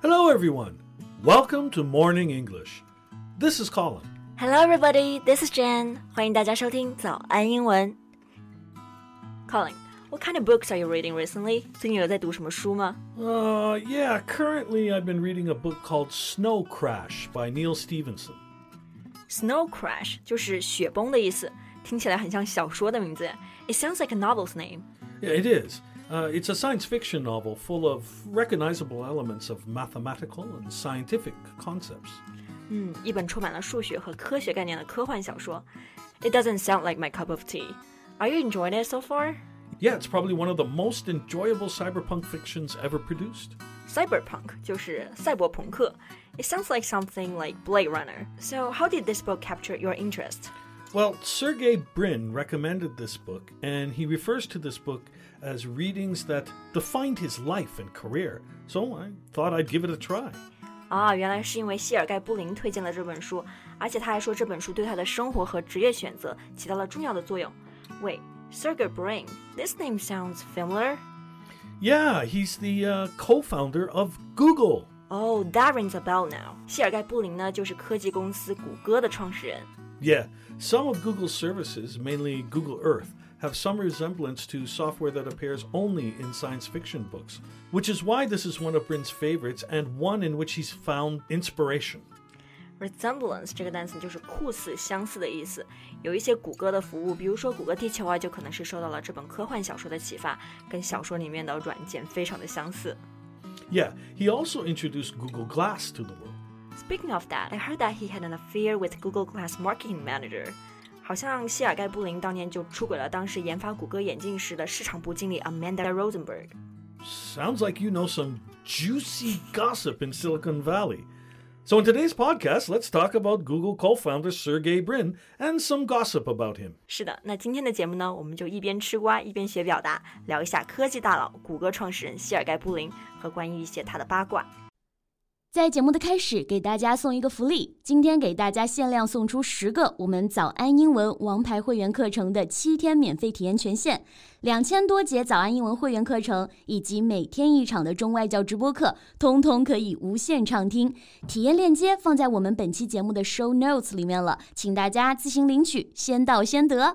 Hello, everyone. Welcome to Morning English. This is Colin. Hello, everybody. This is Jen. 欢迎大家收听早安英文。Colin, what kind of books are you reading recently? 最近有在读什么书吗 Yeah, currently I've been reading a book called Snow Crash by Neil Stephenson. Snow Crash 就是雪崩的意思，听起来很像小说的名字。It sounds like a novel's name. Yeah, it is.It's a science fiction novel full of recognizable elements of mathematical and scientific concepts. 一本充满了数学和科学概念的科幻小说。It doesn't sound like my cup of tea. Are you enjoying it so far? Yeah, it's probably one of the most enjoyable cyberpunk fictions ever produced. Cyberpunk 就是赛博朋克。It sounds like something like Blade Runner. So how did this book capture your interest? Well, Sergey Brin recommended this book, and he refers to this book as readings that defined his life and career. So I thought I'd give it a try. 原来是因为谢尔盖·布林推荐了这本书，而且他还说这本书对他的生活和职业选择起到了重要的作用。Wait, Sergey Brin, this name sounds familiar. Yeah, he's the co-founder of Google. Oh, that rings a bell now. 谢尔盖·布林呢，就是科技公司谷歌的创始人。 Yeah, some of Google's services, mainly Google Earth, have some resemblance to software that appears only in science fiction books, which is why this is one of Brin's favorites and one in which he's found inspiration. Resemblance 这个单词就是酷似、相似的意思。有一些谷歌的服务，比如说谷歌地球啊，就可能是受到了这本科幻小说的启发，跟小说里面的软件非常的相似。 Yeah, he also introduced Google Glass to the world.Speaking of that, I heard that he had an affair with Google Glass marketing manager. 好像谢尔盖·布林当年就出轨了当时研发谷歌眼镜时的市场部经理 Amanda Rosenberg. Sounds like you know some juicy gossip in Silicon Valley. So in today's podcast, let's talk about Google co-founder Sergey Brin and some gossip about him. 是的，那今天的节目呢，我们就一边吃瓜一边学表达，聊一下科技大佬谷歌创始人谢尔盖·布林和关于一些他的八卦。 在节目的开始，给大家送一个福利，今天给大家限量送出10个我们早安英文王牌会员课程的7天免费体验权限，2000多节早安英文会员课程以及每天1场的中外教直播课，通通可以无限畅听。体验链接放在我们本期节目的 show notes 里面了，请大家自行领取，先到先得。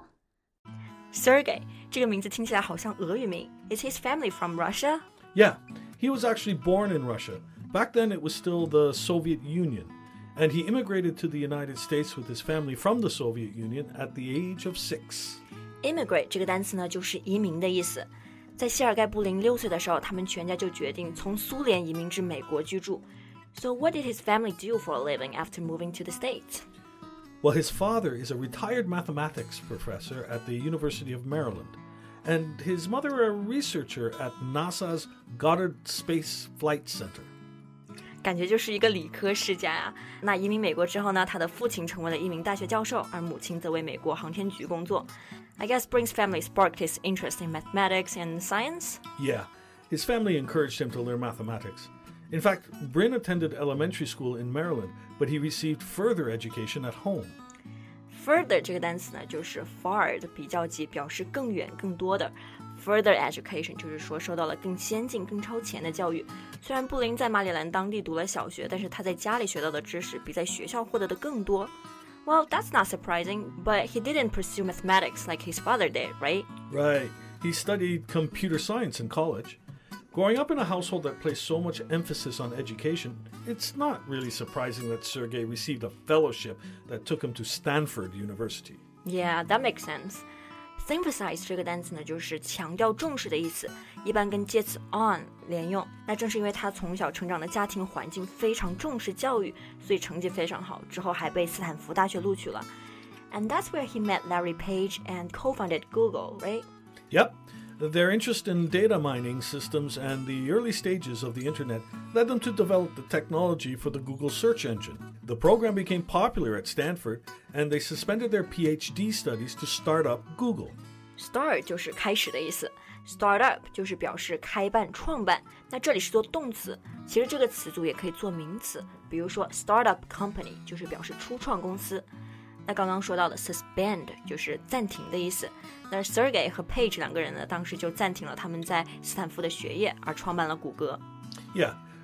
Sergey 这个名字听起来好像俄语名。Is his family from Russia? Yeah, he was actually born in Russia.Back then, it was still the Soviet Union, and he immigrated to the United States with his family from the Soviet Union at the age of 6. Immigrate 这个单词呢，就是移民的意思。在谢尔盖·布林6岁的时候，他们全家就决定从苏联移民至美国居住。So what did his family do for a living after moving to the States? Well, his father is a retired mathematics professor at the University of Maryland, and his mother a researcher at NASA's Goddard Space Flight Center. 感觉就是一个理科世家呀。那移民美国之后呢，他的父亲成为了一名大学教授，而母亲则为美国航天局工作。I guess Brin's family sparked his interest in mathematics and science? Yeah, his family encouraged him to learn mathematics. In fact, Brin attended elementary school in Maryland, but he received further education at home. Further 这个单词呢，就是 far 的比较级，表示更远、更多的。Further education 就是说受到了更先进、更超前的教育。虽然布林在马里兰当地读了小学，但是他在家里学到的知识比在学校获得的更多。Well, that's not surprising, but he didn't pursue mathematics like his father did, right? Right. He studied computer science in college. Growing up in a household that placed so much emphasis on education, it's not really surprising that Sergey received a fellowship that took him to Stanford University. Yeah, that makes sense.Emphasize 这个单词呢，就是强调重视的意思，一般跟介词 on 连用。那正是因为他从小成长的家庭环境非常重视教育，所以成绩非常好，之后还被斯坦福大学录取了。And that's where he met Larry Page and co-founded Google, right? Yep. Their interest in data mining systems and the early stages of the internet led them to develop the technology for the Google search engine. The program became popular at Stanford, and they suspended their PhD studies to start up Google. Start 就是开始的意思， Start up 就是表示开办、创办，那这里是做动词，其实这个词组也可以做名词，比如说 Startup Company 就是表示初创公司。那刚刚说到的 suspend 就是暂停的意思，那 Sergey 和 Page 两个人呢，当时就暂停了他们在斯坦福的学业，而创办了谷歌。 Yeah,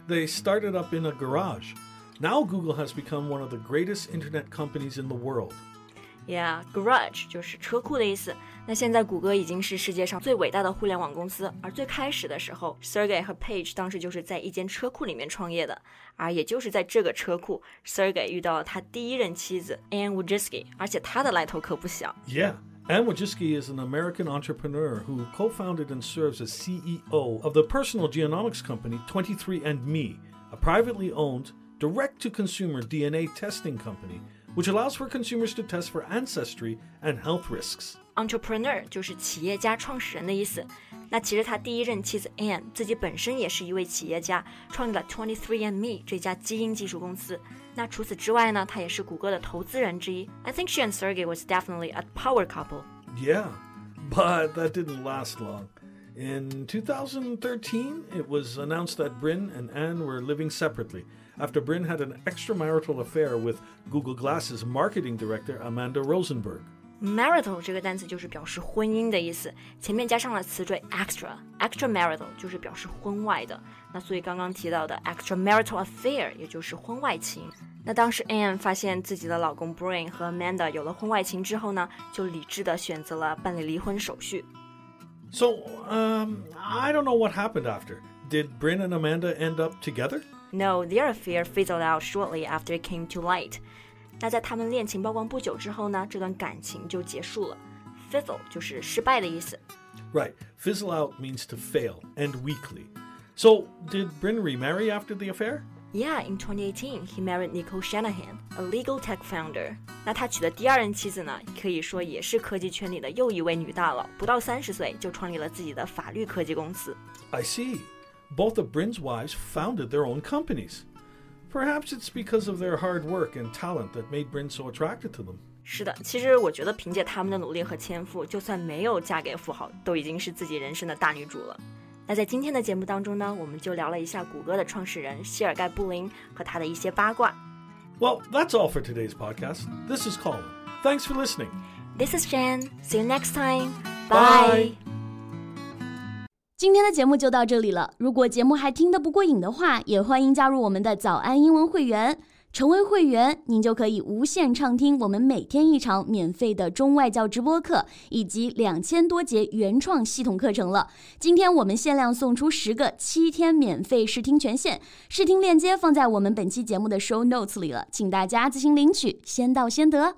they started up in a garage. Now Google has become one of the greatest internet companies in the world. Yeah, garage 就是车库的意思。那现在谷歌已经是世界上最伟大的互联网公司，而最开始的时候 Sergey 和 Page 当时就是在一间车库里面创业的，而也就是在这个车库 Sergey 遇到了他第一任妻子 Anne Wojcicki， 而且他的来头可不小。 Yeah.Anne Wojcicki is an American entrepreneur who co-founded and serves as CEO of the personal genomics company 23andMe, a privately owned, direct-to-consumer DNA testing company, which allows for consumers to test for ancestry and health risks. Entrepreneur 就是企业家、创始人的意思。那其实他第一任妻子 Anne 自己本身也是一位企业家，创立了 23andMe 这家基因技术公司。那除此之外呢，他也是谷歌的投资人之一。I think she and Sergey was definitely a power couple. Yeah, but that didn't last long. In 2013, it was announced that Bryn and Anne were living separately after Bryn had an extramarital affair with Google Glass's marketing director Amanda Rosenberg.Marital 这个单词就是表示婚姻的意思，前面加上了词缀 extramarital 就是表示婚外的。那所以刚刚提到的 extramarital affair 也就是婚外情。那当时 Anne 发现自己的老公 Bryn 和 Amanda 有了婚外情之后呢，就理智的选择了办理离婚手续。 So, I don't know what happened after. Did Bryn and Amanda end up together? No, their affair fizzled out shortly after it came to light.那在他们恋情曝光不久之后呢，这段感情就结束了。Fizzle 就是失败的意思。 Right. Fizzle out means to fail, end weakly. So, did Bryn remarry after the affair? Yeah, in 2018, he married Nicole Shanahan, a legal tech founder. 那他娶的第二任妻子呢，可以说也是科技圈里的又一位女大佬，不到30岁就创立了自己的法律科技公司。 I see. Both of Bryn's wives founded their own companies.Perhaps it's because of their hard work and talent that made Bryn so attracted to them. 是的，其实我觉得凭借他们的努力和天赋，就算没有嫁给富豪，都已经是自己人生的大女主了。那在今天的节目当中呢，我们就聊了一下谷歌的创始人谢尔盖·布林和他的一些八卦。 Well, that's all for today's podcast. This is Colin. Thanks for listening. This is Jen. See you next time. Bye. 今天的节目就到这里了。如果节目还听得不过瘾的话，也欢迎加入我们的早安英文会员。成为会员，您就可以无限畅听我们每天一场免费的中外教直播课，以及2000多节原创系统课程了。今天我们限量送出10个7天免费试听权限，试听链接放在我们本期节目的 show notes 里了，请大家自行领取，先到先得。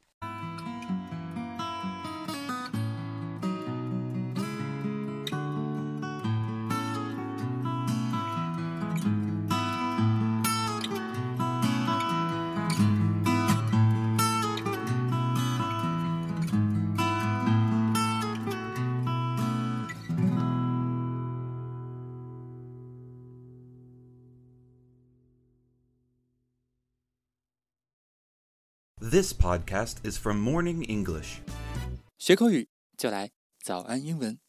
This podcast is from Morning English. 学口语就来早安英文。